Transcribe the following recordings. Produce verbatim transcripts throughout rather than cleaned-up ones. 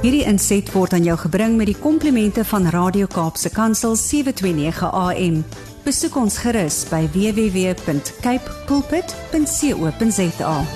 Hierdie inset word aan jou gebring met die komplimente van Radio Kaapse Kansel sewe twee nege A M. Besoek ons gerus by w w w punt cape pulpit punt co punt za.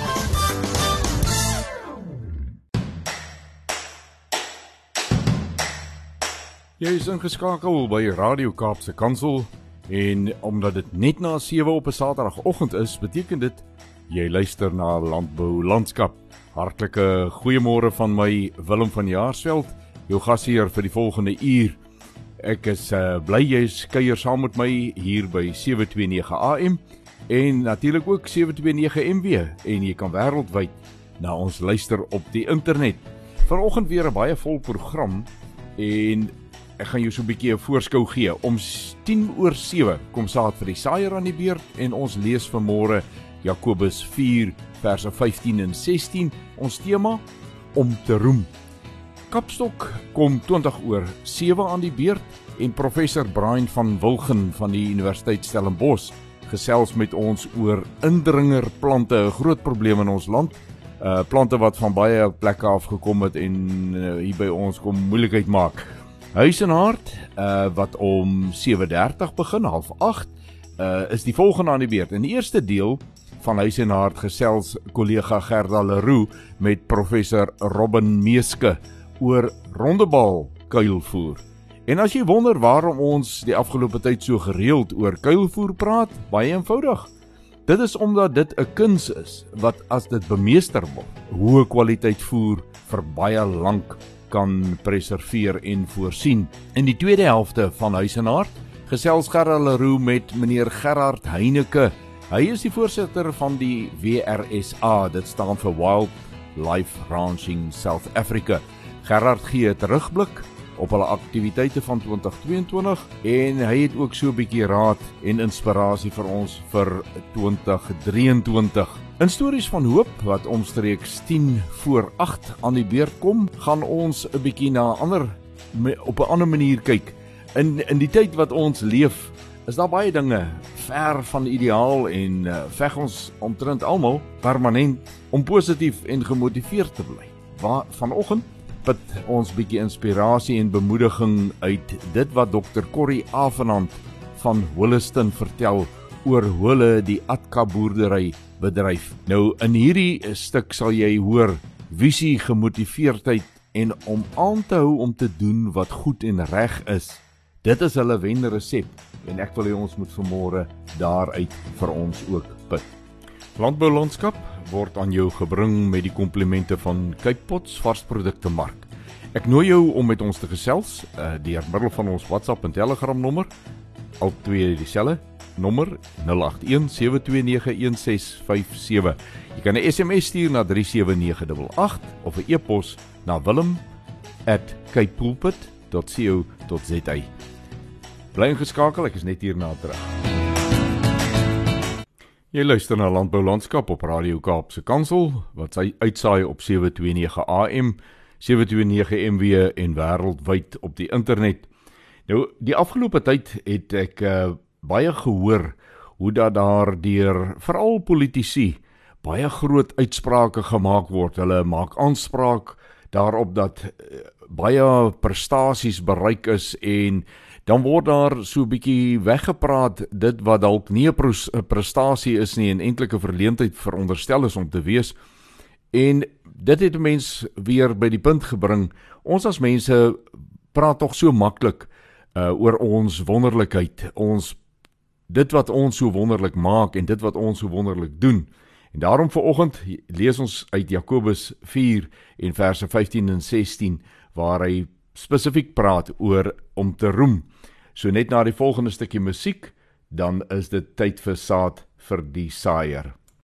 Jy is ingeskakel by Radio Kaapse Kansel en omdat dit net na sewe op 'n Saterdagoggend is, beteken dit jy luister na Landbou Landskap. Hartlike goeiemôre van my, Willem van Jaarsveld, jou gasheer vir die volgende uur. Ek is uh, bly jy kuier saam met my hier by sewe twee nege A M en natuurlik ook sewe twee nege M W en jy kan wêreldwyd na ons luister op die internet. Vanoggend weer 'n baie vol program en ek gaan jou so 'n bietjie 'n voorskou gee. Om tien oor sewe kom saad vir die saaier aan die beurt en ons lees vanmôre Jakobus vier verse vyftien en sestien. Ons tema om te roem. Kapstok kom twintig oor sewe aan die beurt en professor Brian van Wilgen van die Universiteit Stellenbosch gesels met ons oor indringerplante, 'n groot probleem in ons land. Uh, plante wat van baie plekke af gekom het en uh, hier by ons kom moeilikheid maak. Huis en Hart, uh, wat om sewe dertig begin, half agt, uh, is die volgende aan die beurt. In die eerste deel van Huis en Hart gesels kollega Gerda Leroux met professor Robin Meeske oor rondebal kuilvoer. En as jy wonder waarom ons die afgelope tyd so gereeld oor kuilvoer praat, baie eenvoudig. Dit is omdat dit 'n kuns is, wat as dit bemeester word, hoë kwaliteit voer vir baie lank kan preserveer en voorsien. In die tweede helfte van Huis en Hart gesels Gerda Leroux met meneer Gerard Heineke. Hy is die voorsitter van die W R S A, dit staan vir Wildlife Ranching South Africa. Gerard gee 'n terugblik op hulle aktiwiteite van twintig tweeëntwintig en hy het ook so 'n bietjie raad en inspirasie vir ons vir twintig drieëntwintig. In stories van hoop wat omstreeks tien voor agt aan die beurt kom, gaan ons 'n bietjie na ander op 'n ander manier kyk. In in die tyd wat ons leef, is daar baie dinge ver van ideaal en uh, veg ons omtrent almal permanent om positief en gemotiveerd te bly. Waar vanoggend put ons bietjie inspirasie en bemoediging uit dit wat dokter Corrie Avenant van Holliston vertel oor hoe hulle die Atka boerdery bedryf. Nou in hierdie stuk sal jy hoor visie, gemotiveerdheid en om aan te hou om te doen wat goed en reg is. Dit is hulle wenresep en ek wil hê ons moet vanmôre daaruit vir ons ook put. Landbou Landskap word aan jou gebring met die komplimente van Cape Pots varsprodukte mark. Ek nooi jou om met ons te gesels uh, deur middel van ons WhatsApp en Telegram nommer, al twee dieselfde nommer nul agt een sewe twee nege een ses vyf sewe. Jy kan 'n S M S stuur na drie sewe nege agt agt of 'n e-pos na willem at cape pulpit dot co dot za. Bly ingeskakel, ek is net hierna terug. Jy luister na Landbou Landskap op Radio Kaapse Kansel, wat sy uitsaai op sewe twee nege A M, sewe twee nege M W en wêreldwyd op die internet. Nou, die afgelope tyd het ek uh, baie gehoor hoe dat daar deur veral politici baie groot uitsprake gemaak word. Hulle maak aanspraak daarop dat uh, baie prestasies bereik is en dan word daar so 'n bietjie weggepraat dit wat dalk nie 'n prestasie is nie en eintlik 'n verleentheid veronderstel is om te wees. En dit het 'n mens weer by die punt gebring. Ons as mense praat tog so maklik uh, oor ons wonderlikheid, ons dit wat ons so wonderlik maak en dit wat ons so wonderlik doen. En daarom vanoggend lees ons uit Jakobus vier en verse vyftien en sestien waar hy spesifiek praat oor om te roem. So net na die volgende stukkie musiek, dan is dit tyd vir saad vir die saaier.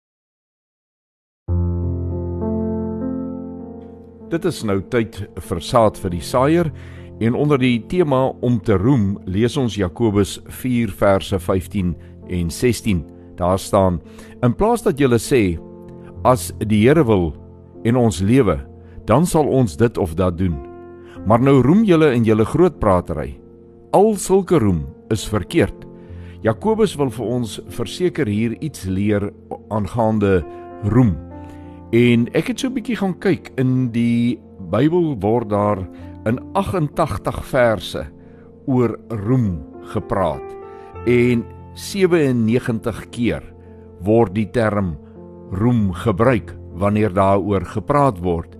Dit is nou tyd vir saad vir die saaier en onder die tema om te roem lees ons Jakobus vier verse vyftien en sestien. Daar staan: in plaas dat julle sê, as die Here wil en ons lewe, dan sal ons dit of dat doen. Maar nou roem julle in julle grootpratery. Al sulke roem is verkeerd. Jakobus wil vir ons verseker hier iets leer aangaande roem. En ek het so 'n bietjie gaan kyk in die Bybel word daar in agt en tagtig verse oor roem gepraat en sewe en negentig keer word die term roem gebruik wanneer daaroor gepraat word.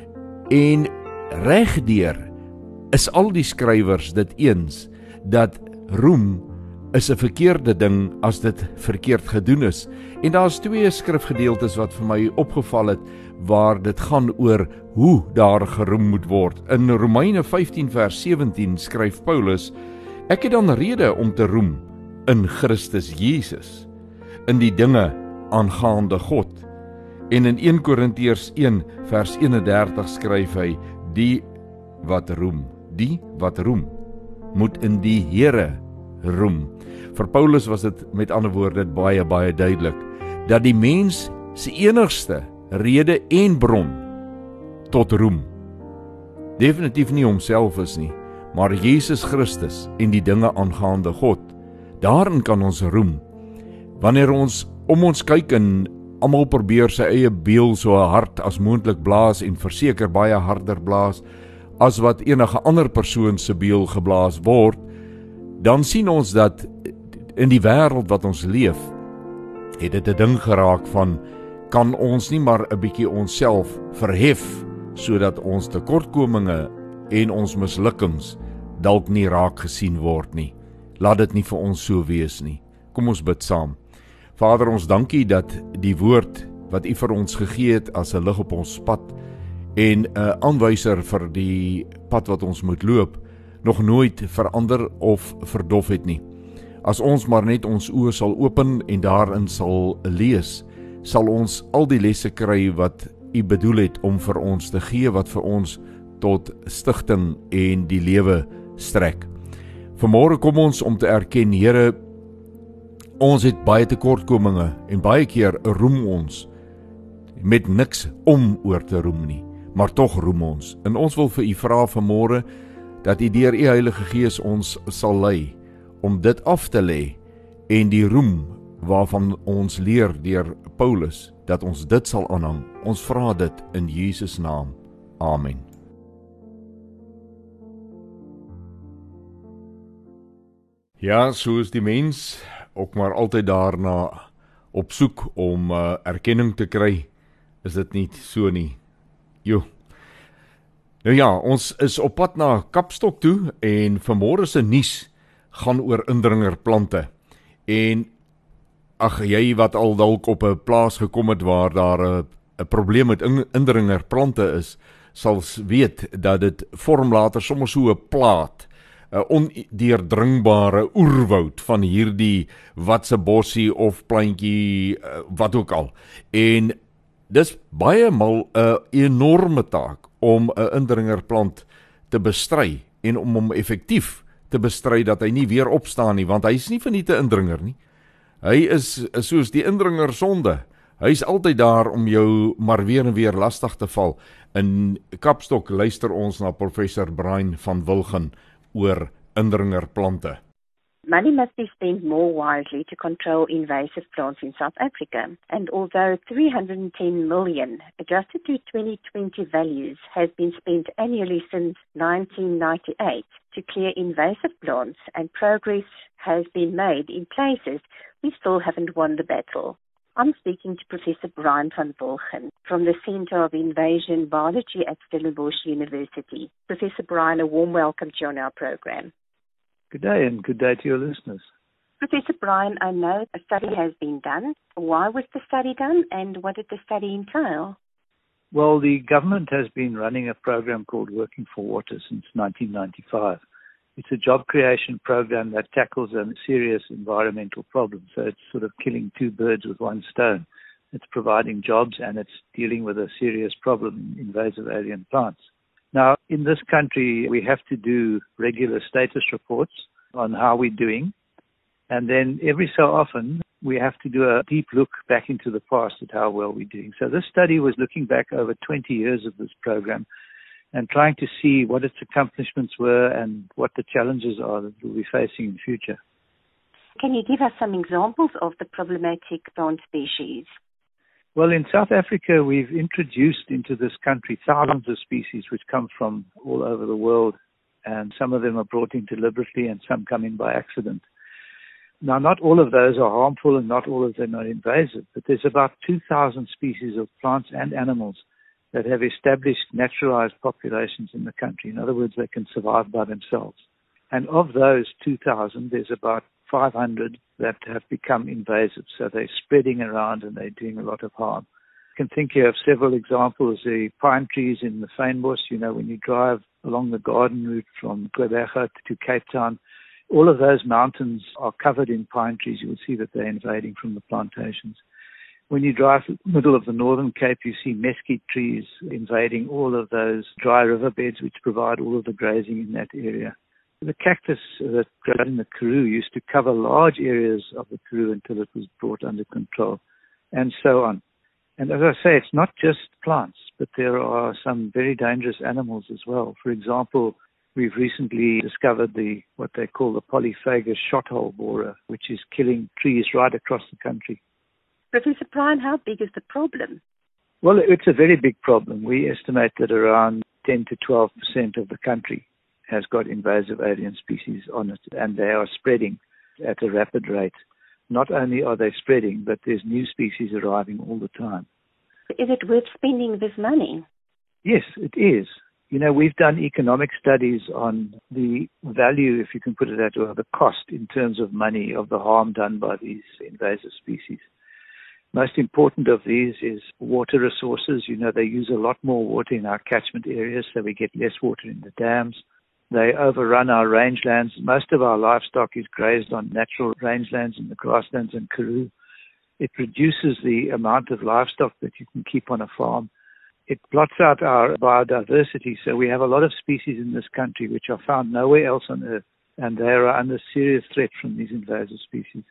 En regdeur is al die skrywers dit eens dat roem is 'n verkeerde ding as dit verkeerd gedoen is. En daar's twee skrifgedeeltes wat vir my opgeval het waar dit gaan oor hoe daar geroem moet word. In Romeine vyftien vers sewentien skryf Paulus: Ek het dan rede om te roem in Christus Jesus, in die dinge aangaande God. En in een Korintiërs een vers eenendertig skryf hy: Die wat roem, die wat roem, moet in die Here roem. Vir Paulus was dit met ander woorde baie baie duidelik dat die mens se enigste rede en bron tot roem definitief nie homself is nie, maar Jesus Christus en die dinge aangaande God. Daarin kan ons roem. Wanneer ons om ons kyk en almal probeer sy eie beeld so hard as moontlik blaas en verseker baie harder blaas as wat enige ander persoon se beeld geblaas word, dan sien ons dat in die wêreld wat ons leef, het dit 'n ding geraak van, kan ons nie maar 'n bietjie onsself verhef, sodat ons tekortkominge en ons mislukkings dalk nie raak gesien word nie. Laat dit nie vir ons so wees nie. Kom ons bid saam. Vader, ons dankie dat die woord wat U vir ons gegee het as 'n lig op ons pad en 'n aanwyser vir die pad wat ons moet loop, nog nooit verander of verdof het nie. As ons maar net ons oë sal open en daarin sal lees, sal ons al die lesse kry wat U bedoel het om vir ons te gee, wat vir ons tot stigting en die lewe strek. Vanmôre kom ons om te erken, Here, ons het baie tekortkominge en baie keer roem ons met niks om oor te roem nie, maar tog roem ons. En ons wil vir U vra vanmôre dat U deur U Heilige Gees ons sal lei om dit af te lê en die roem waarvan ons leer deur Paulus, dat ons dit sal aanhang. Ons vra dit in Jesus naam. Amen. Ja, so is die mens ook maar altyd daarna op soek om uh, erkenning te kry. Is dit nie so nie? Jo. Nou ja, ons is op pad na Kapstok toe en vanmôre se nuus gaan oor indringerplante. En ag, jy wat al dalk op 'n plaas gekom het waar daar 'n 'n probleem met indringerplante is, sal weet dat dit vorm later sommer so 'n plaat, 'n ondeurdringbare oerwoud van hierdie watse bossie of plantjie, wat ook al. En dis baie mal 'n enorme taak om 'n indringerplant te bestry en om hom effektief te bestry dat hy nie weer opstaan nie, want hy is nie van nie te indringer nie. Hy is soos die indringer sonde. Hy is altyd daar om jou maar weer en weer lastig te val. In Kapstok luister ons na professor Brian van Wilgen oor indringerplante. Money must be spent more wisely to control invasive plants in South Africa. And although three hundred ten million, adjusted to twenty twenty values, has been spent annually since nineteen ninety-eight to clear invasive plants and progress has been made in places, we still haven't won the battle. I'm speaking to Professor Brian van Wilgen from the Center of Invasion Biology at Stellenbosch University. Professor Brian, a warm welcome to you on our program. Good day, and good day to your listeners. Professor Brian, I know a study has been done. Why was the study done, and what did the study entail? Well, the government has been running a program called Working for Water since nineteen ninety-five. It's a job creation program that tackles a serious environmental problem. So it's sort of killing two birds with one stone. It's providing jobs and it's dealing with a serious problem, invasive alien plants. Now, in this country, we have to do regular status reports on how we're doing. And then every so often, we have to do a deep look back into the past at how well we're doing. So this study was looking back over twenty years of this program and trying to see what its accomplishments were and what the challenges are that we'll be facing in the future. Can you give us some examples of the problematic plant species? Well, in South Africa, we've introduced into this country thousands of species which come from all over the world, and some of them are brought in deliberately and some come in by accident. Now, not all of those are harmful and not all of them are invasive, but there's about two thousand species of plants and animals that have established naturalized populations in the country. In other words, they can survive by themselves. And of those two thousand, there's about five hundred that have become invasive. So they're spreading around and they're doing a lot of harm. You can think here of several examples. The pine trees in the Fynbos, you know, when you drive along the garden route from Gqeberha to Cape Town, all of those mountains are covered in pine trees. You will see that they're invading from the plantations. When you drive through the middle of the Northern Cape, you see mesquite trees invading all of those dry riverbeds which provide all of the grazing in that area. The cactus that grows in the Karoo used to cover large areas of the Karoo until it was brought under control, and so on. And as I say, it's not just plants, but there are some very dangerous animals as well. For example, we've recently discovered the what they call the polyphagous shothole borer, which is killing trees right across the country. Professor Bryan, how big is the problem? Well, it's a very big problem. We estimate that around ten to twelve percent of the country has got invasive alien species on it, and they are spreading at a rapid rate. Not only are they spreading, but there's new species arriving all the time. Is it worth spending this money? Yes, it is. You know, we've done economic studies on the value, if you can put it that way, or the cost in terms of money of the harm done by these invasive species. Most important of these is water resources. You know, they use a lot more water in our catchment areas, so we get less water in the dams. They overrun our rangelands. Most of our livestock is grazed on natural rangelands in the grasslands and Karoo. It reduces the amount of livestock that you can keep on a farm. It blots out our biodiversity, so we have a lot of species in this country which are found nowhere else on Earth, and they are under serious threat from these invasive species.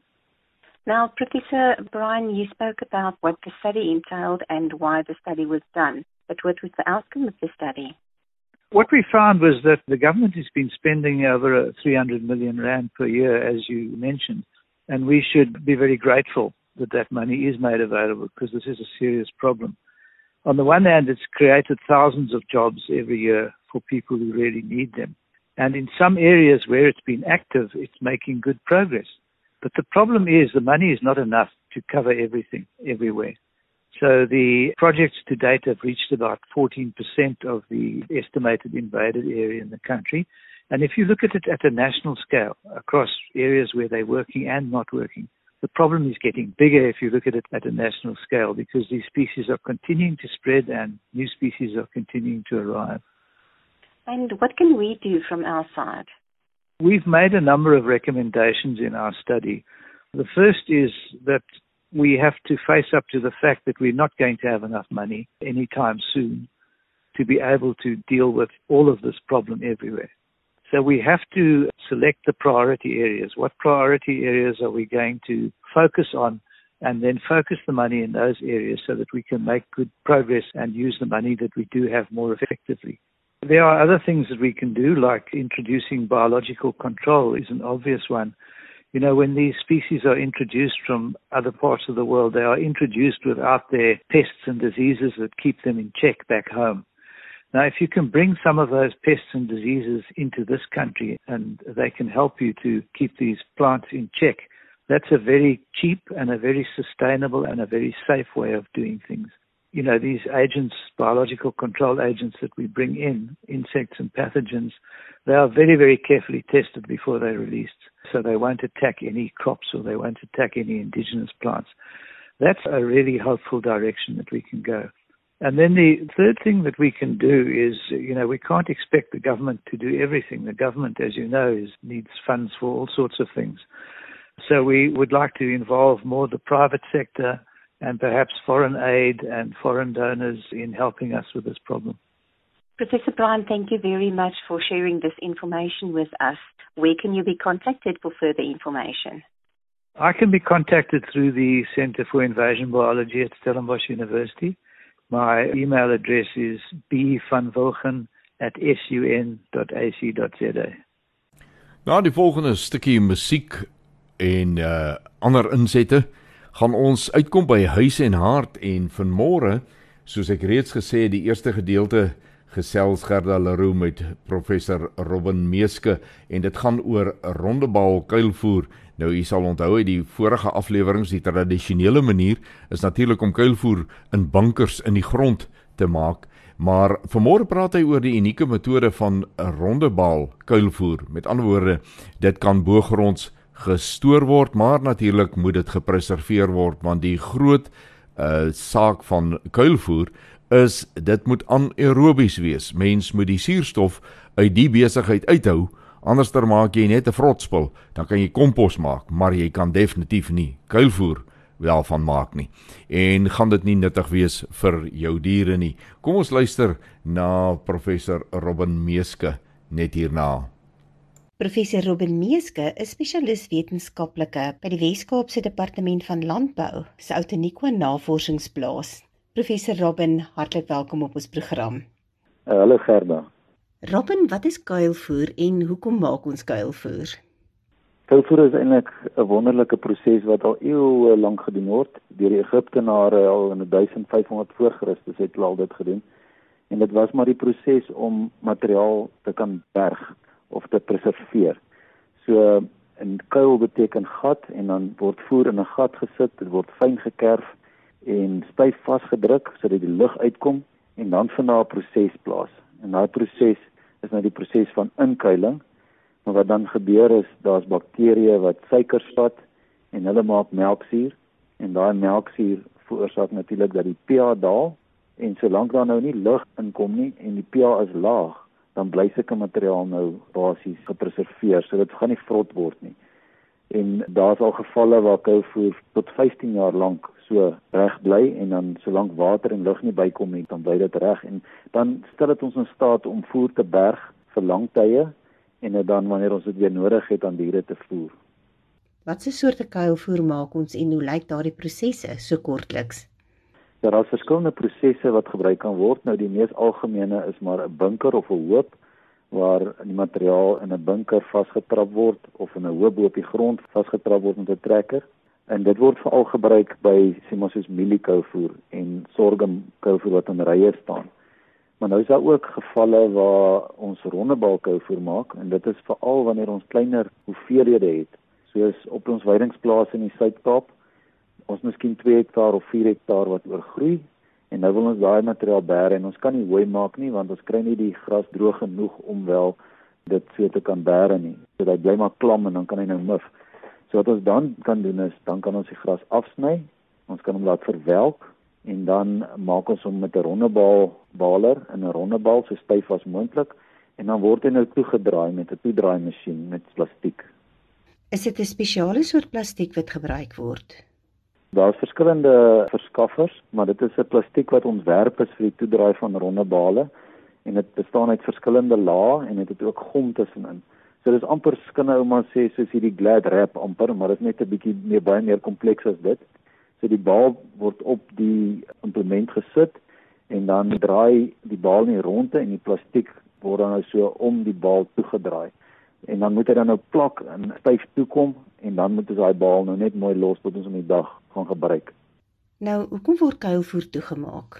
Now, Professor Bryan, you spoke about what the study entailed and why the study was done, but what was the outcome of the study? What we found was that the government has been spending over three hundred million rand per year, as you mentioned, and we should be very grateful that that money is made available because this is a serious problem. On the one hand, it's created thousands of jobs every year for people who really need them. And in some areas where it's been active, it's making good progress. But the problem is the money is not enough to cover everything everywhere. So the projects to date have reached about fourteen percent of the estimated invaded area in the country. And if you look at it at a national scale, across areas where they're working and not working, the problem is getting bigger if you look at it at a national scale because these species are continuing to spread and new species are continuing to arrive. And what can we do from our side? We've made a number of recommendations in our study. The first is that we have to face up to the fact that we're not going to have enough money anytime soon to be able to deal with all of this problem everywhere. So we have to select the priority areas. What priority areas are we going to focus on and then focus the money in those areas so that we can make good progress and use the money that we do have more effectively. There are other things that we can do, like introducing biological control is an obvious one. You know, when these species are introduced from other parts of the world, they are introduced without their pests and diseases that keep them in check back home. Now, if you can bring some of those pests and diseases into this country and they can help you to keep these plants in check, that's a very cheap and a very sustainable and a very safe way of doing things. You know, these agents, biological control agents that we bring in, insects and pathogens, they are very, very carefully tested before they're released. So they won't attack any crops or they won't attack any indigenous plants. That's a really hopeful direction that we can go. And then the third thing that we can do is, you know, we can't expect the government to do everything. The government, as you know, is, needs funds for all sorts of things. So we would like to involve more the private sector and perhaps foreign aid and foreign donors in helping us with this problem. Professor Bryan, thank you very much for sharing this information with us. Where can you be contacted for further information? I can be contacted through the Center for Invasion Biology at Stellenbosch University. My email address is b van wilgen at s u n dot a c dot z a. Na die volgende stukkie musiek en uh, ander insette gaan ons uitkom by Huis en Hart en vanmôre, soos ek reeds gesê, die eerste gedeelte gesels Gerda Leroux met professor Robin Meeske en dit gaan oor rondebal kuilvoer. Nou, u sal onthou uit die vorige afleweringe, die tradisionele manier is natuurlik om kuilvoer in bunkers in die grond te maak, maar vanmôre praat hy oor die unieke metode van rondebal kuilvoer. Met ander woorde, dit kan bogronds gestoor word, maar natuurlik moet dit gepreserveer word, want die groot uh, saak van kuilvoer is, dit moet anaerobies wees. Mens moet die suurstof uit die besigheid uithou, anders dan maak jy net 'n vrotspul, dan kan jy kompos maak, maar jy kan definitief nie kuilvoer wel van maak nie. En gaan dit nie nuttig wees vir jou diere nie. Kom ons luister na professor Robin Meeske net hierna. Professor Robin Meeske is spesialis wetenskaplike by die Wes-Kaapse Departement van Landbou se Outeniqua Navorsingsplaas. Professor Robin, hartlik welkom op ons program. Uh, hallo Gerda. Robin, wat is kuilvoer en hoekom maak ons kuilvoer? Kuilvoer is eintlik 'n wonderlike proses wat al eeue lank gedoen word. Deur die Egiptenare al in duisend vyfhonderd voor Christus het hulle al dit gedoen. En dit was maar die proses om materiaal te kan berg of te preserveer. So 'n kuil beteken gat en dan word voer in 'n gat gesit, dit word fyn gekerf en styf vasgedruk sodat die lug uitkom en dan vind daar 'n proses plaas. En daai proses is nou die proses van inkuiling. Maar wat dan gebeur is, daar's bakterieë wat suikers vat en hulle maak melksuur en daai melksuur veroorsaak natuurlik dat die pH daal en solank daar nou nie lug inkom nie en die pH is laag, dan bly sulke materiaal nou basies gepreserveer, so dit gaan nie vrot word nie. En daar's al gevalle waar kuilvoer tot vyftien jaar lank so reg bly en dan solank water en lug nie bykom nie, dan bly dit reg en dan stel dit ons in staat om voer te berg vir lang tye en dan wanneer ons dit weer nodig het aan diere te voer. Watse soorte kuilvoer maak ons en hoe lyk daardie prosesse so kortliks? Ja, daar is verskillende prosesse wat gebruik kan word. Nou die mees algemene is maar 'n bunker of 'n hoop waar die materiaal in 'n bunker vasgetrap word of in 'n hoop op die grond vasgetrap word met 'n trekker. En dit word veral gebruik by sê maar soos mieliekuilvoer en sorghumkuilvoer wat in rye staan. Maar nou is daar ook gevalle waar ons rondebal kuilvoer maak en dit is veral wanneer ons kleiner hoeveelhede het, soos op ons weidingsplase in die Suid-Kaap. Ons miskien twee hektaar of vier hektaar wat oorgroei en nou wil ons daai materiaal bære en ons kan nie hooi maak nie want ons kry nie die gras droog genoeg om wel dit so te kan bære nie. So dat bly maar klam en dan kan hy nou mif. So wat ons dan kan doen is, dan kan ons die gras afsny, ons kan hom laat verwelk en dan maak ons hom met 'n rondebal baler in 'n rondebal so styf as moontlik en dan word hy nou toegedraai met 'n toedraaimasjien met plastiek. Is dit 'n spesiale soort plastiek wat gebruik word? Daar's verskillende verskaffers, maar dit is 'n plastiek wat ontwerp is vir die toedraai van rondebale en dit bestaan uit verskillende lae en dit het ook gom tussenin. So dis amper skinne ou maar sê soos hierdie glad wrap amper, maar dit is net 'n bietjie meer baie meer kompleks as dit. So die bal word op die implement gesit en dan draai die bal nie rondte en die plastiek word dan nou so om die bal toegedraai. En dan moet hy dan nou plak en styf toekom en dan moet ons daai bal nou net mooi los tot ons om die dag gaan gebruik. Nou, hoekom word kuilvoer toegemaak?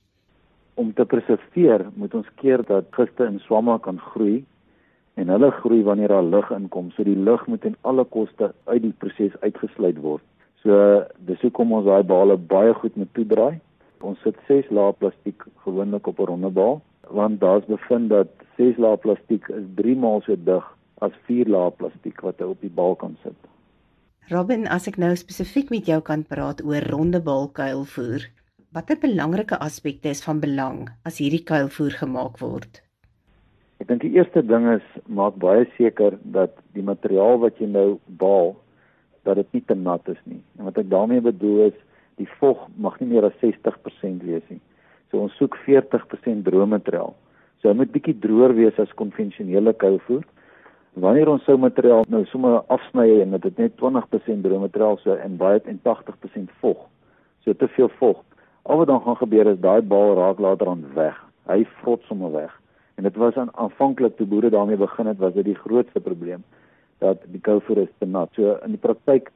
Om te preserveer moet ons keer dat giste en swamme kan groei en hulle groei wanneer daar lug inkom. So die lug moet ten alle koste uit die proses uitgesluit word. So dis hoekom ons daai bale baie goed moet toedraai. Ons sit ses lae plastiek gewoonlik op 'n rondebal, want daar's bevind dat ses lae plastiek is drie maal so dig as vier lae plastiek wat hy op die bal kan sit. Robin, as ek nou spesifiek met jou kan praat oor rondebal kuilvoer, watter belangrike aspekte is van belang as hierdie kuilvoer gemaak word? Ek dink die eerste ding is, maak baie seker dat die materiaal wat jy nou bal, dat dit nie te nat is nie. En wat ek daarmee bedoel is, die vog mag nie meer as sestig persent wees nie. So ons soek veertig persent droë materiaal. So hy moet bietjie droër wees as konvensionele kuilvoer. Wanneer ons sou materiaal nou sommer afsny en dit net twintig persent droë materiaal so en baie en tagtig persent vog. So te veel vog. Al wat dan gaan gebeur is daai bal raak later aan weg. Hy vrot sommer weg. En dit was aan aanvanklik toe boere daarmee begin het, was dit die grootste probleem dat die kuilvoer is te nat. So in die praktyk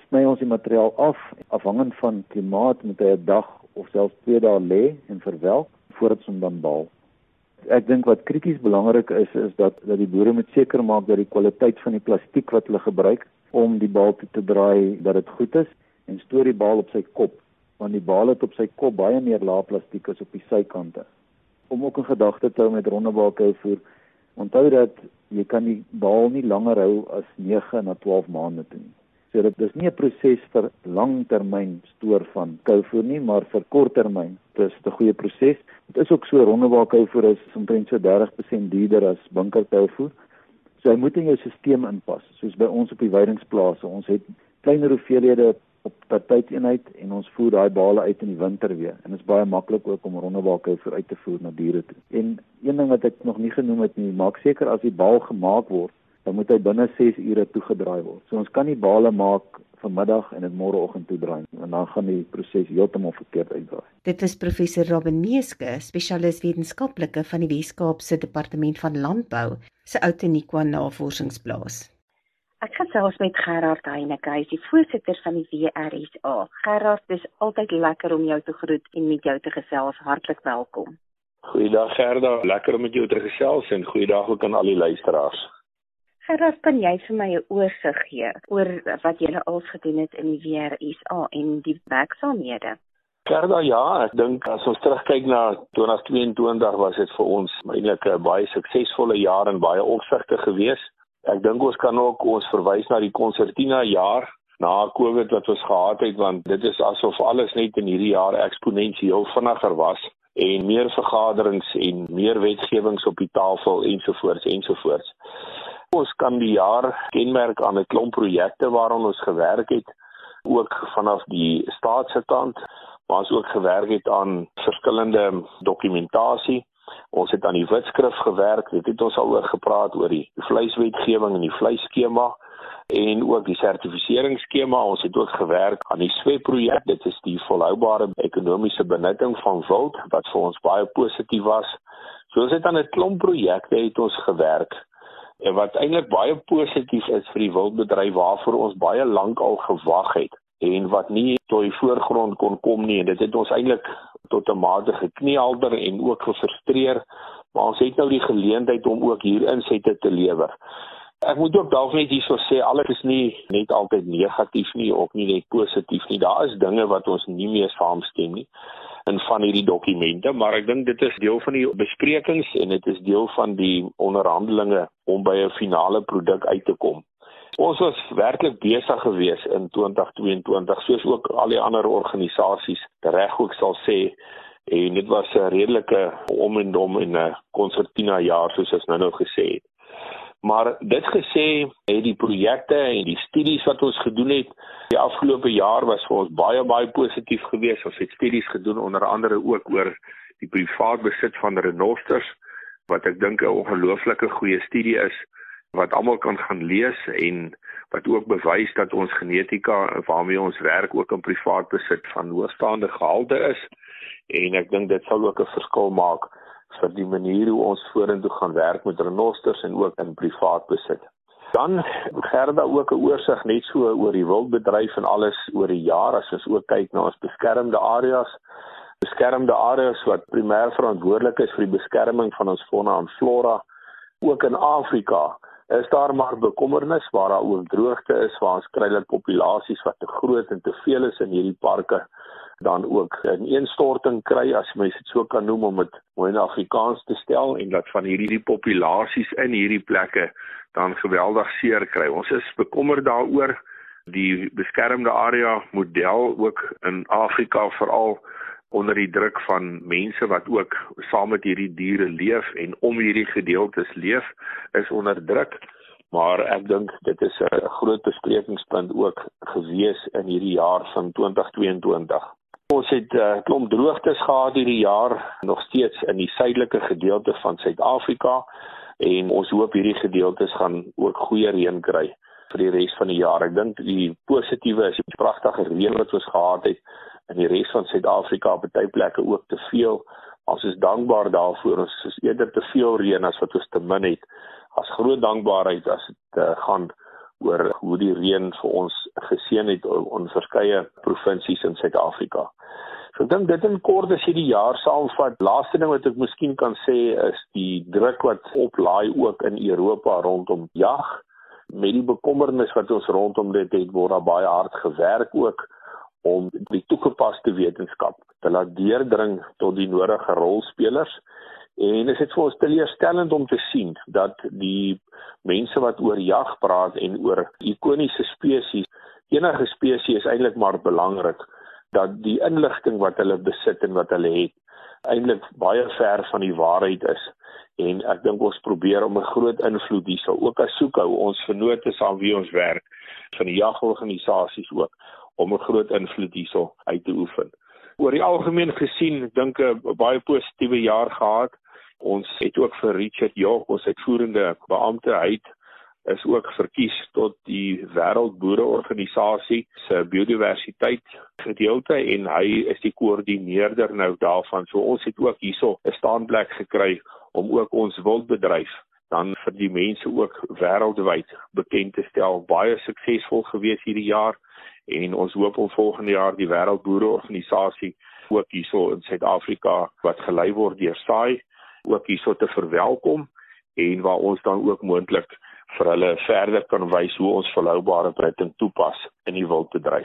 sny ons die materiaal af. Afhangend van klimaat moet hy 'n dag of selfs twee dae lê en verwelk voordat ons hom dan baal. Ek dink wat krities belangrik is, is dat, dat die boere moet seker maak dat die kwaliteit van die plastiek wat hulle gebruik om die baal toe te draai, dat dit goed is, en stoor die baal op sy kop, want die baal het op sy kop baie meer laag plastiek as op die sykante. Om ook in gedagte te hou met rondebaalkouvoer, onthou dat jy kan die baal nie langer hou as nege na twaalf maande toe nie. So dit is nie 'n proses vir langtermyn stoor van kouvoer nie, maar vir korttermyn. Dit is 'n goeie proses. Dit is ook so, rondebaalkouvoer is omtrent so dertig persent duurder as bunkerkouvoer. So hy moet in jou stelsel inpas, soos by ons op die weidingsplase. Ons het kleiner hoeveelhede op per tydeenheid en ons voer daai bale uit in die winter weer. En dit is baie maklik ook om rondebaalkouvoer uit te voer na diere toe. En een ding wat ek nog nie genoem het nie, maak seker as die baal gemaak word, dan moet hy binne ses ure toegedraai word. So ons kan nie bale maak vanmiddag en dit môreoggend toedraai nie, want dan gaan die proses heeltemal verkeerd uitdraai. Dit was professor Robin Meeske, spesialis wetenskaplike van die Wes-Kaapse Departement van Landbou, se Outeniqua Navorsingsplaas. Ek gesels met Gerard Heineke, hy is die voorsitter van die W R S A. Gerard, dis altyd lekker om jou te groet en met jou te gesels. Hartlik welkom. Goeiedag Gerda, lekker om met jou te gesels en goeiedag ook aan al die luisteraars. Gerard, kan jy vir my 'n oorsig gee oor wat julle als gedoen het in die W R S A en die werksaamhede? Gerda, ja, ek dink as ons terugkyk na twintig tweeëntwintig was dit vir ons eintlik 'n baie suksesvolle jaar en baie opsigte gewees. Ek dink ons kan ook ons verwys na die konsertina jaar na COVID wat ons gehad het, want dit is asof alles net in hierdie jaar eksponensieel vinniger was en meer vergaderings en meer wetgewings op die tafel ensovoorts ensovoorts. Ons kan die jaar kenmerk aan 'n klomp projekte waaraan ons gewerk het, ook vanaf die staatse kant, maar ons ook gewerk het aan verskillende dokumentasie. Ons het aan die wetskrif gewerk, dit het ons al oor gepraat oor die vleiswetgewing en die vleisskema en ook die sertifiseringsskema. Ons het ook gewerk aan die S W E projek, dit is die volhoubare ekonomiese benutting van wild, wat vir ons baie positief was. So ons het aan 'n klomp projekte het ons gewerk, en wat eintlik baie positief is vir die wildbedryf waarvoor ons baie lank al gewag het en wat nie tot die voorgrond kon kom nie, en dit het ons eintlik tot 'n mate gekniehalter en ook gefrustreer, maar ons het nou die geleentheid om ook hier insette te lewer. Ek moet ook dalk net hierso sê, alles is nie net altyd negatief nie, ook nie net positief nie. Daar is dinge wat ons nie meer saamstem nie in van hierdie dokumente, maar ek dink dit is deel van die besprekings en dit is deel van die onderhandelinge om by 'n finale produk uit te kom. Ons was werklik besig gewees in twintig tweeëntwintig, soos ook al die ander organisasies reg ook sal sê, en dit was 'n redelike om en om in 'n konsertina jaar, soos ons nou nou gesê het. Maar dit gesê, het die projekte en die studies wat ons gedoen het, die afgelope jaar was vir ons baie, baie positief geweest. Ons het studies gedoen, onder andere ook oor die privaat besit van renosters, wat ek dink 'n ongelooflike goeie studie is, wat almal kan gaan lees en wat ook bewys dat ons genetika waarmee ons werk ook in privaat besit van hoogstaande gehalte is. En ek dink dit sal ook 'n verskil maak vir die manier hoe ons vorentoe gaan werk met renosters en ook in privaat besit. Dan Gerda ook 'n oorsig net so oor die wildbedryf en alles oor die jaar, as ons ook kyk na ons beskermde areas. Beskermde areas wat primêr verantwoordelik is vir die beskerming van ons fauna en flora, ook in Afrika, is daar maar bekommernis waar daar ook droogte is, waar ons kry dat populasies wat te groot en te veel is in hierdie parke, dan ook 'n ineenstorting kry, as mens dit so kan noem, om dit mooi in Afrikaans te stel, en dat van hierdie populasies in hierdie plekke dan geweldig seer kry. Ons is bekommerd daaroor. Die beskermde area model ook in Afrika, veral onder die druk van mense wat ook saam met hierdie diere leef en om hierdie gedeeltes leef, is onder druk. Maar ek dink dit is 'n groot besprekingspunt ook gewees in hierdie jaar van twintig tweeëntwintig. Ons het 'n uh, klomp droogtes gehad hierdie jaar, nog steeds in die suidelike gedeelte van Suid-Afrika, en ons hoop hierdie gedeeltes gaan ook goeie reën kry vir die res van die jaar. Ek dink die positiewe is die pragtige reën wat ons gehad het in die res van Suid-Afrika, op baie plekke ook te veel. Ons is dankbaar daarvoor. Ons is eerder te veel reën as wat ons te min het. As groot dankbaarheid as dit uh, gaan oor hoe die reën vir ons geseën het in verskeie provinsies in Suid-Afrika. So ek dink dit in kort as jy die jaar saamvat. Laaste ding wat ek miskien kan sê is die druk wat oplaai ook in Europa rondom jag. Met die bekommernis wat ons rondom dit het, word daar baie hard gewerk ook om die toegepaste wetenskap te laat deurdring tot die nodige rolspelers. En is dit vir ons teleurstellend om te sien dat die mense wat oor jag praat en oor ikoniese spesies, enige spesies is eintlik maar belangrik, dat die inligting wat hulle besit en wat hulle het, eintlik baie ver van die waarheid is. En ek dink ons probeer om 'n groot invloed hier sal ook as soek hou ons vennote saam wie ons werk, van die jagorganisasies ook, om 'n groot invloed hier sal uit te oefen. Oor die algemeen gesien, ek dink 'n baie positiewe jaar gehad. Ons het ook vir Richard York, ons uitvoerende beampte, hy is ook verkies tot die Wêreldboereorganisasie se biodiversiteit gedeelte en hy is die koördineerder nou daarvan. So ons het ook hierso 'n staanplek gekry om ook ons wildbedryf dan vir die mense ook wêreldwyd bekend te stel. Baie suksesvol gewees hierdie jaar en ons hoop om volgende jaar die Wêreldboereorganisasie ook hierso in Suid-Afrika wat gelei word deur S A I ook hierso te verwelkom en waar ons dan ook moontlik vir hulle verder kan wys hoe ons volhoubare breiting toepas in die wildbedryf.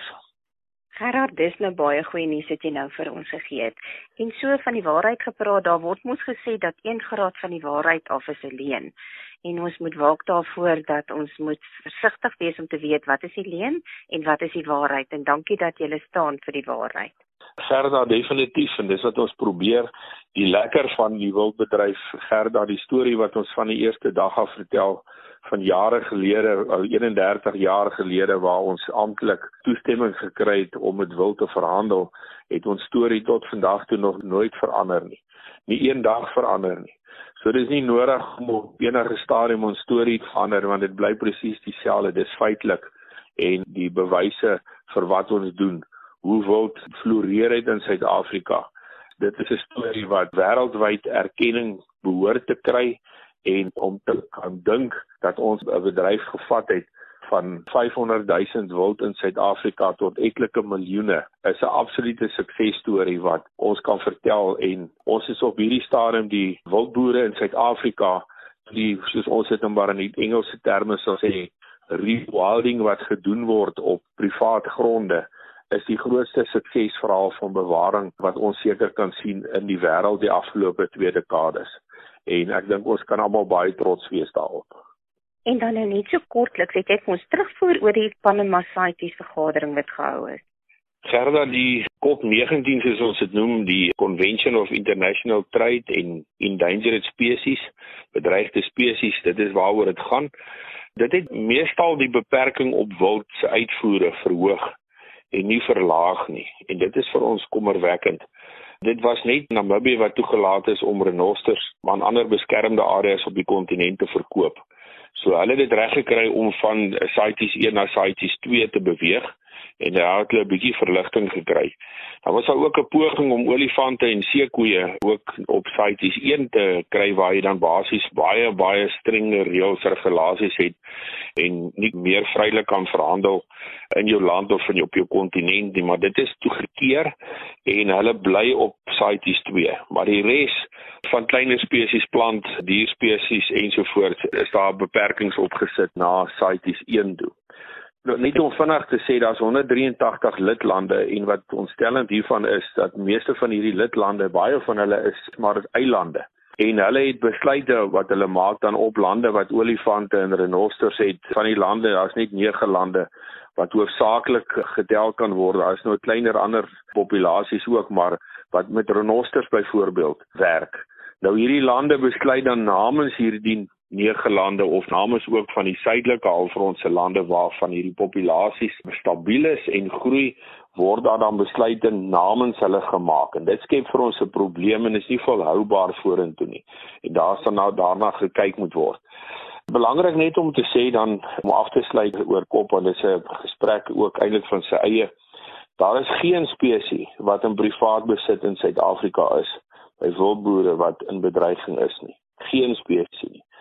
Gerard, dis nou baie goeie nuus wat jy nou vir ons gegee het. En so van die waarheid gepraat, daar word mos gesê dat een graad van die waarheid af is 'n leuen. En ons moet waak daarvoor dat ons moet versigtig wees om te weet wat is die leuen en wat is die waarheid. En dankie dat jy staan vir die waarheid. Gerda, definitief, en dis wat ons probeer, die lekker van die wildbedryf, Gerda, die storie wat ons van die eerste dag af vertel, van jare gelede, eenendertig jaar gelede, waar ons amptelik toestemming gekry het om met wild te verhandel, het ons storie tot vandag toe nog nooit verander nie. Nie een dag verander nie. So dis nie nodig om op enige stadium ons storie te verander, want dit bly presies dieselfde, dis feitelik, en die bewyse vir wat ons doen, hoe wild floreer het in Suid-Afrika. Dit is 'n storie wat wêreldwyd erkenning behoort te kry, en om te kan dink dat ons 'n bedryf gevat het van vyfhonderd duisend wild in Suid-Afrika tot etlike miljoene, is 'n absolute suksesstorie wat ons kan vertel, en ons is op hierdie stadium die wildboere in Suid-Afrika, die, soos ons dit maar in die Engelse terme sal sê, rewilding wat gedoen word op privaat gronde, is die grootste suksesverhaal van bewaring wat ons seker kan sien in die wêreld die afgelope twee dekades. En ek dink ons kan almal baie trots wees daarop. En dan nou net so kortliks, het jy ons terugvoer oor die Panama CITES vergadering wat gehou is. Gerda, die COP negentien, soos ons dit noem, die Convention of International Trade in Endangered Species, bedreigde spesies, dit is waaroor dit gaan. Dit het meestal die beperking op wild se uitvoere verhoog en nie verlaag nie. En dit is vir ons kommerwekkend. Dit was net Namibië wat toegelaat is om renosters aan ander beskermde areas op die kontinent te verkoop. So hulle het dit reg gekry om van CITES een na CITES twee te beweeg en daar het hulle 'n bietjie verligting gekry. Daar was daar ook 'n poging om olifante en seekoeie ook op CITES een te kry waar jy dan basies baie baie strenge reëls regulasies het en nie meer vrylik kan verhandel in jou land of in jou, op jou kontinent nie, maar dit is toegekeer en hulle bly op CITES twee. Maar die res van kleiner spesies, plant, dierspesies ensovoorts is daar beperkings opgesit na CITES een toe. Nou, net om vinnig te sê, daar is honderd drie en tagtig lidlande en wat ontstellend hiervan is, dat meeste van hierdie lidlande, baie van hulle is maar eilande. En hulle het besluite wat hulle maak dan op lande wat olifante en renosters het. Van die lande, daar is net nege lande wat hoofsaaklik getel kan word. Daar is nou kleiner ander populasies ook, maar wat met renosters byvoorbeeld werk. Nou hierdie lande besluit dan namens hierdie nege lande of namens ook van die suidelike halfrondse lande waarvan hierdie populasies stabiel is en groei, word daar dan besluite namens hulle gemaak. En dit skep vir ons 'n probleem en is nie volhoubaar vorentoe nie. En daar sal nou daarna gekyk moet word. Belangrik net om te sê dan, om af te sluit oor kop, want dit is 'n gesprek ook eintlik van sy eie. Daar is geen spesies wat in privaat besit in Suid-Afrika is, by wildboere wat in bedreiging is nie. Geen spesies nie.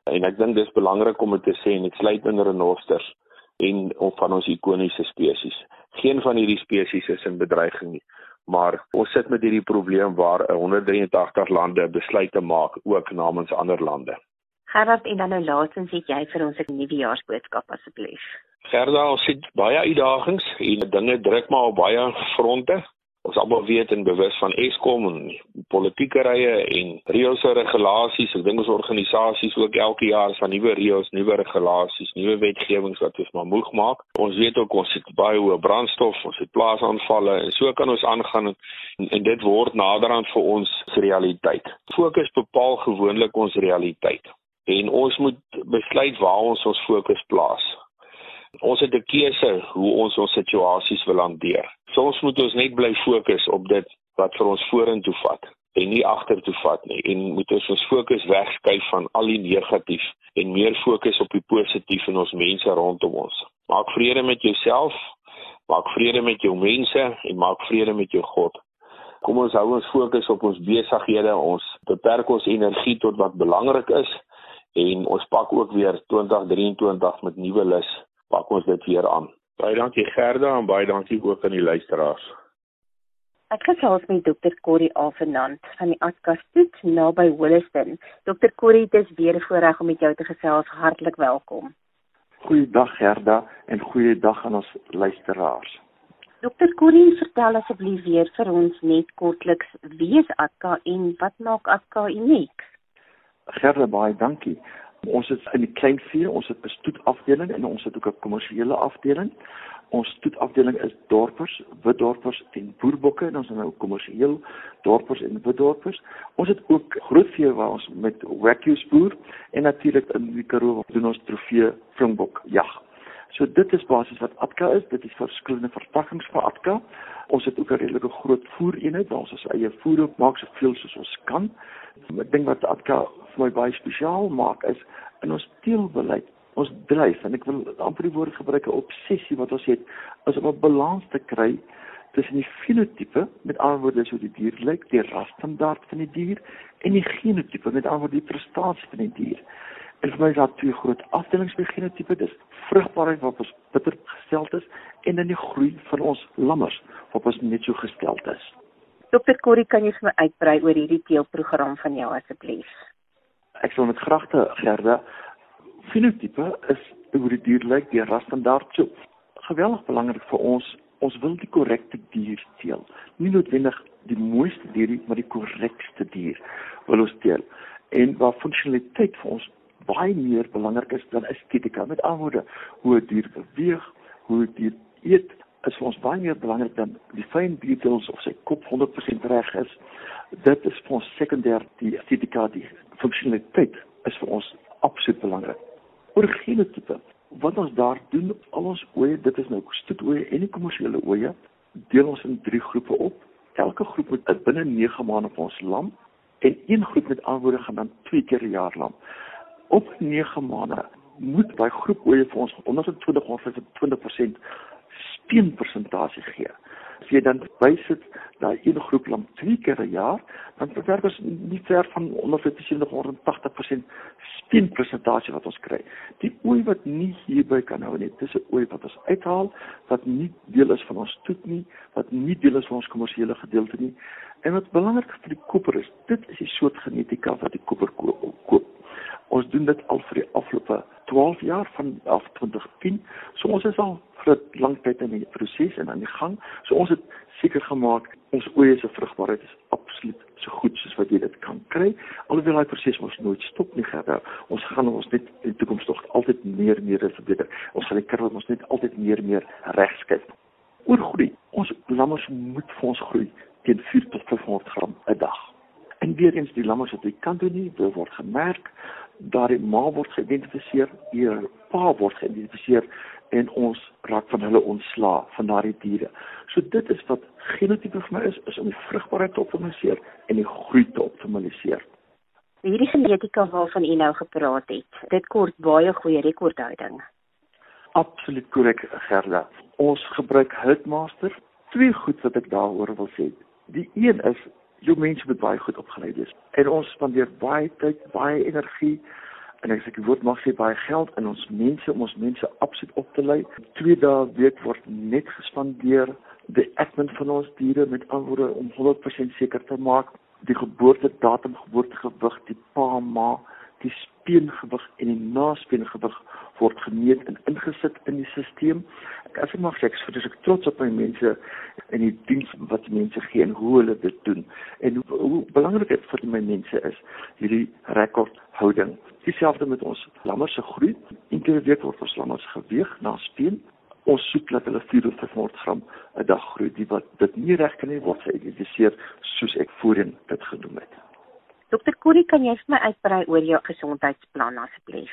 En ek dink dis belangrik om dit te sê, en dit sluit in renosters en van ons ikoniese spesies. Geen van hierdie spesies is in bedreiging nie, maar ons sit met hierdie probleem waar honderd drie en agt lande besluite maak, ook namens ander lande. Gerard, en dan nou laatens het jy vir ons 'n nuwejaarsboodskap asseblief. Gerda, ons het baie uitdagings en dinge druk maar op baie fronte. Ons almal weet en bewus van Eskom en politieke rye en reëls en regulasies. Ek dink ons organisasies ook elke jaar is van nuwe reëls, nuwe regulasies, nuwe wetgewings wat ons maar moeg maak. Ons weet ook ons het baie hoë brandstof, ons het plaasaanvalle en so kan ons aangaan en, en dit word naderhand vir ons realiteit. Fokus bepaal gewoonlik ons realiteit en ons moet besluit waar ons ons fokus plaas. Ons het 'n keuse hoe ons ons situasies wil hanteer. Soms moet ons net bly fokus op dit wat vir ons vorentoe vat en nie agtertoe vat nie. En moet ons ons fokus wegskuif van al die negatief en meer fokus op die positief in ons mense rondom ons. Maak vrede met jouself, maak vrede met jou mense en maak vrede met jou God. Kom ons hou ons fokus op ons besighede, ons beperk ons energie tot wat belangrik is en ons pak ook weer twintig drieëntwintig met nuwe lus. Pak ons dit weer aan. Baie dankie Gerda en baie dankie ook aan die luisteraars. Ek gesels met dokter Corrie Avenant van die Askastoet naby Williston. dokter Corrie, dit is weer 'n voorreg om met jou te gesels. Hartlik welkom. Goeiedag Gerda en goeiedag aan ons luisteraars. dokter Corrie, vertel asseblief weer vir ons net kortliks wie is A T K A en wat maak A T K A uniek? Gerda, baie dankie. Ons het in die kleinvee, ons het 'n stoetafdeling en ons het ook 'n kommersiële afdeling. Ons stoetafdeling is dorpers, witdorpers en boerbokke en ons het nou kommersieel dorpers en witdorpers. Ons het ook grootvee waar ons met wagyus boer en natuurlik in die Karoo doen ons trofee springbok jag. So dit is basies wat A T K A is, dit is verskillende verpakkings van A T K A. Ons het ook 'n redelike groot voereenheid waar ons ons eie voer op maak soveel soos ons kan. Ek dink wat A T K A vir my baie spesiaal maak is in ons teelbeleid, ons dryf en ek wil amper die woord gebruik 'n obsessie wat ons het, is om 'n balans te kry tussen die fenotipe, met ander woorde so die dier lyk, die rasstandaard van die dier en die genotipe, met ander woorde die prestasie van die dier. En vir my is daar twee groot afdelings by genotipe, dis vrugbaarheid waarop ons bitter gesteld is en dan die groei van ons lammers waarop ons net so gesteld is. dokter Corrie, kan jy vir my uitbrei oor hierdie teelprogram van jou asseblief? Ek sal met graagte, Gerda. Fenotipe is hoe die dier lyk, die rasstandaard. So geweldig belangrik vir ons, ons wil die korrekte dier teel. Nie noodwendig die mooiste dier nie, maar die korrekste dier wil ons teel. En waar funksionaliteit vir ons baie meer belangrik is dan estetika. Met ander woorde, hoe 'n dier beweeg, hoe 'n dier eet, is vir ons baie meer belangrik dan die fyn details of sy kop honderd persent reg is. Dit is vir ons sekundêr, die estetika, die funksionaliteit is vir ons absoluut belangrik. Oor genotipe, wat ons daar doen, al ons ooe, dit is nou stoetoe en die kommersiële ooe, deel ons in drie groepe op. Elke groep moet binne nege maande vir ons lam en een groep met aanwoorde gaan dan twee keer 'n jaar lam. Op nege maande moet by groep ooe vir ons honderd twintig of vyfentwintig persent speenpersentasie gee. As jy dan bysit daai een groep lam twee keer 'n jaar, dan verwerk ons nie ver van onder vyfensewentig tot agtig persent speenpersentasie wat ons kry. Die ooi wat nie hierby kan hou nie, dis 'n ooi wat ons uithaal, wat nie deel is van ons stoet nie, wat nie deel is van ons kommersiële gedeelte nie. En wat belangrik vir die koper is, dit is die soort genetika wat die koper koop. Ons doen dit al vir die afgelope twaalf jaar vanaf twintig tien. So ons is al vir 'n lang tyd in die proses en aan die gang. So ons het seker gemaak ons oeye se vrugbaarheid is absoluut so goed soos wat jy dit kan kry. Alhoewel daai proses ons nooit stop nie, Gerda. Ons gaan ons net in die toekoms tog altyd meer en meer verbeter. Ons gaan die kurwe ons net altyd meer en meer regskuif. Oor groei. Ons lammers moet vir ons groei teen vier tot vyfhonderd gram 'n dag. En weer eens die lammers wat jy kan doen nie, dit word gemerk, daar die ma word geïdentifiseer, die pa word geïdentifiseer en ons raak van hulle ontslaa van daardie diere. So dit is wat genotipe vir my is, is om die vrugbaarheid te optimaliseer en die groei te optimaliseer. Hierdie genetika waarvan u nou gepraat het, dit kort baie goeie rekordhouding. Absoluut korrek, Gerda. Ons gebruik Hultmaster. Twee goed wat ek daaroor wil sê. Die een is, jou mense moet baie goed opgeleid wees. En ons spandeer baie tyd, baie energie en as ek die woord mag sê, baie geld in ons mense, om ons mense absoluut op te lei. Twee dae week word net gespandeer, die admin van ons diere met antwoorde om honderd persent seker te maak, die geboortedatum, geboortegewig, die pa, ma, die speengewig en die naspeengewig word gemeet en ingesit in die stelsel. As ek mag sê, ek is ek trots op my mense en die diens wat mense gee en hoe hulle dit doen. En hoe, hoe belangrik dit vir my mense is, hierdie rekordhouding. Dieselfde met ons lammers se groei. Enkele week word ons lammers geweeg na speen. Ons soek dat hulle vier tot vyfhonderd gram 'n dag groei. Die wat dit nie reg kan nie, word geïdentifiseer soos ek voorheen dit genoem het. Dokter Corrie, kan jy vir my uitbrei oor jou gesondheidsplan asseblief?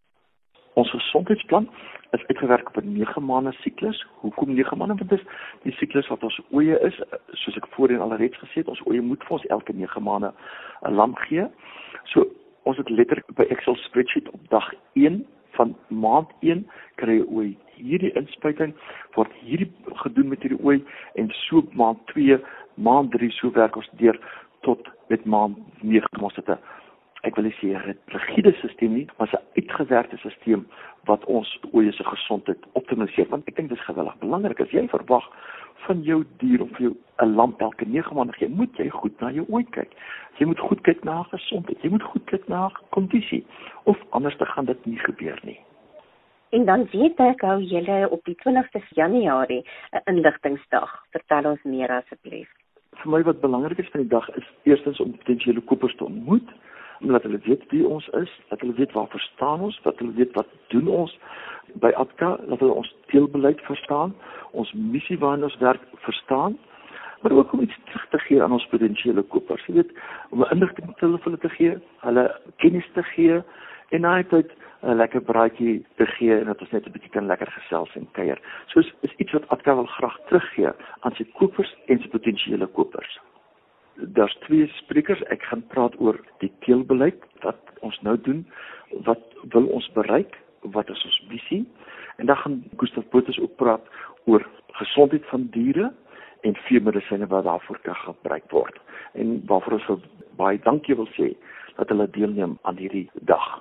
Ons gesondheidsplan is uitgewerk op 'n nege maande siklus. Hoekom nege maande? Want dit is die siklus wat ons oeye is, soos ek voorheen alreeds gesê het, ons oeye moet vir ons elke nege maande 'n lam gee. So ons het letterlik by Excel spreadsheet op dag een van maand een kry jy ooi hierdie inspuiting, word hierdie gedoen met hierdie ooi en so maand twee, maand drie, so werk ons deur tot met maand nege. Ons het 'n, ek wil nie sê 'n rigiede stelsel nie, maar 'n uitgewerkte stelsel wat ons oeye se gesondheid optimaliseer. Want ek dink dit is geweldig belangrik as jy verwag van jou dier of jou 'n lam elke nege maande gee, moet jy goed na jou ooi kyk. Jy moet goed kyk na gesondheid, jy moet goed kyk na kondisie, of anders dan gaan dit nie gebeur nie. En dan weet ek, hou julle op die twintigste Januarie 'n inligtingsdag. Vertel ons meer asseblief. Vir my wat belangrik is van die dag is eerstens om potensiële kopers te ontmoet, omdat hulle weet wie ons is, dat hulle weet waar verstaan ons, dat hulle weet wat doen ons by A P C A, dat hulle ons teelbeleid verstaan, ons missie waarin ons werk verstaan, maar ook om iets terug te gee aan ons potensiële kopers. Jy weet, om 'n inligting te hulle te gee, hulle kennis te gee en na die tyd 'n lekker braaitjie te gee en dat ons net 'n bietjie kan lekker gesels en kuier. So is, is iets wat A P C A wil graag teruggee aan sy kopers en sy potensiële kopers. Daar's twee sprekers, ek gaan praat oor die teelbeleid, wat ons nou doen, wat wil ons bereik, wat is ons visie, en dan gaan Gustav Botha ook praat oor gesondheid van diere en veemedisyne wat daarvoor kan gebruik word, en waarvoor ons baie dankie wil sê, dat hulle deelneem aan hierdie dag.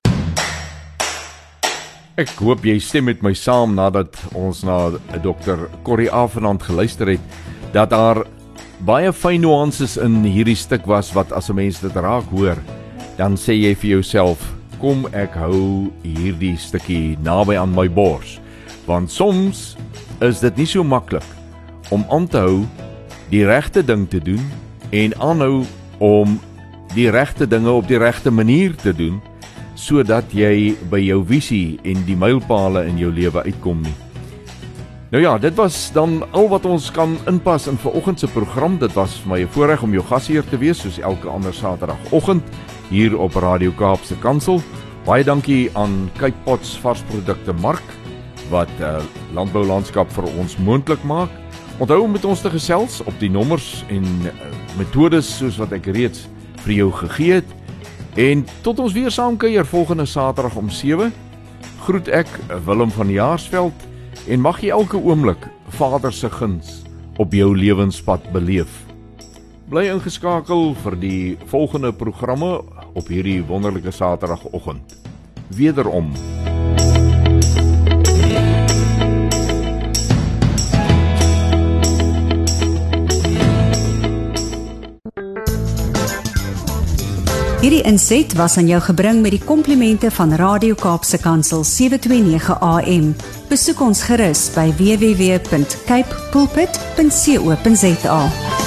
Ek hoop jy stem met my saam nadat ons na dokter Corrie Avenant geluister het, dat daar baie fyn nuances in hierdie stuk was, wat as 'n mens dit raak hoor, dan sê jy vir jouself, kom ek hou hierdie stukkie naby aan my bors, want soms is dit nie so maklik om aan te hou die regte ding te doen en aanhou om die regte dinge op die regte manier te doen, sodat jy by jou visie en die mylpale in jou lewe uitkom nie. Nou ja, dit was dan al wat ons kan inpas in vanoggend se program. Dit was vir my 'n voorreg om jou gasheer te wees, soos elke ander Saterdagoggend hier op Radio Kaapse Kansel. Baie dankie aan Cape Pots varsprodukte mark wat uh, landboulandskap vir ons moontlik maak. Onthou om met ons te gesels op die nommers en uh, metodes soos wat ek reeds vir jou gegee het. En tot ons weer saam kuier volgende Saterdag om sewe. Groet ek Willem van Jaarsveld en mag jy elke oomblik Vader se guns op jou lewenspad beleef. Bly ingeskakel vir die volgende programme op hierdie wonderlike Saterdagoggend. Wederom. Hierdie inset was aan jou gebring met die komplimente van Radio Kaapse Kansel sewe twee nege A M. Besoek ons gerus by w w w punt cape pulpit punt co punt za.